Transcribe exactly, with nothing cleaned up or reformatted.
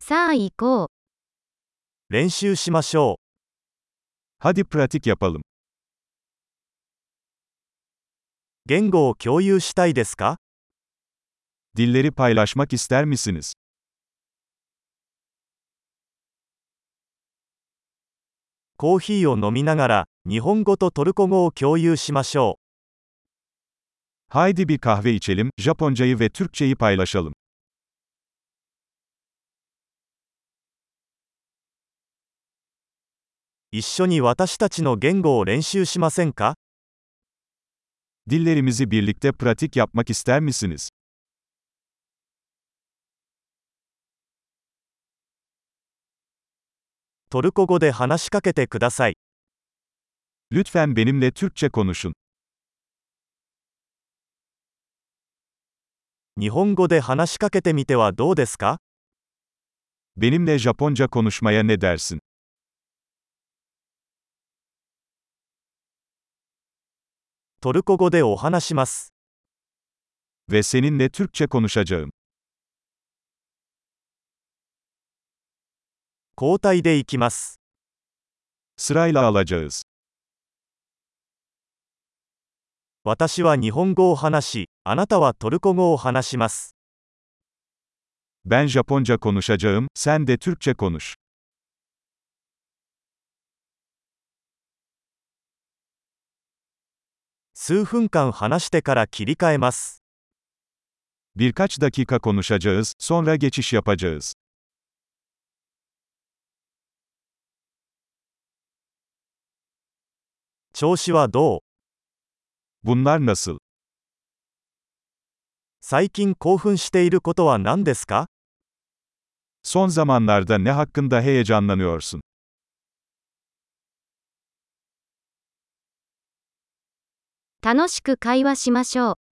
さあ行こう。 練習しましょ Hadi pratik yapalım. う。言語を共有したいですか？ Dilleri paylaşmak ister misiniz? コーヒーを飲みながら、日本語とトルコ語を共有しましょ Haydi bir kahve içelim, Japoncayı ve Türkçeyi paylaşalım. う。一緒に私たちの言語を練習しませんか？ Dillerimizi birlikte pratik yapmak ister misiniz? トルコ語で話しかけてください。 Lütfen benimle Türkçe konuşun. 日本語で話しかけてみてはどうですか？ Benimle Japonca konuşmaya ne dersin? トルコ語でお話します。 Ve seninle Türkçe konuşacağım. 交代でいきます。 Sırayla alacağız. 私は日本語を話し、あなたはトルコ語を話します。 Ben Japonca konuşacağım, sen de Türkçe konuş. 数分間話してから切り替えます。 Birkaç dakika konuşacağız, sonra geçiş yapacağız. 調子はどう？ Bunlar nasıl? 最近興奮していることは何ですか？ Son zamanlarda ne hakkında heyecanlanıyorsun? 楽しく会話しましょう。